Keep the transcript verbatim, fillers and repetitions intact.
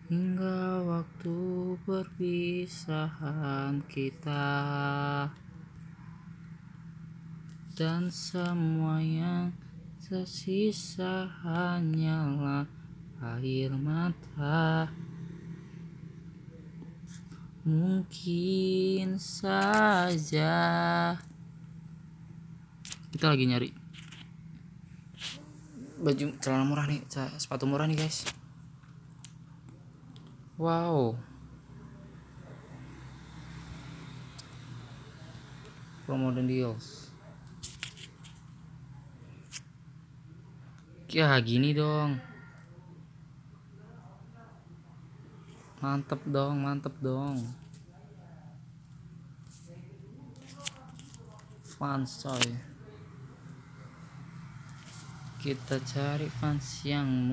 Hingga waktu perpisahan kita, dan semua yang tersisa hanyalah air mata. Mungkin saja kita lagi nyari baju celana murah nih, sepatu murah nih guys. Wow, promo dan deals. Ya gini dong, mantep dong, mantep dong. Fans coy, kita cari fans yang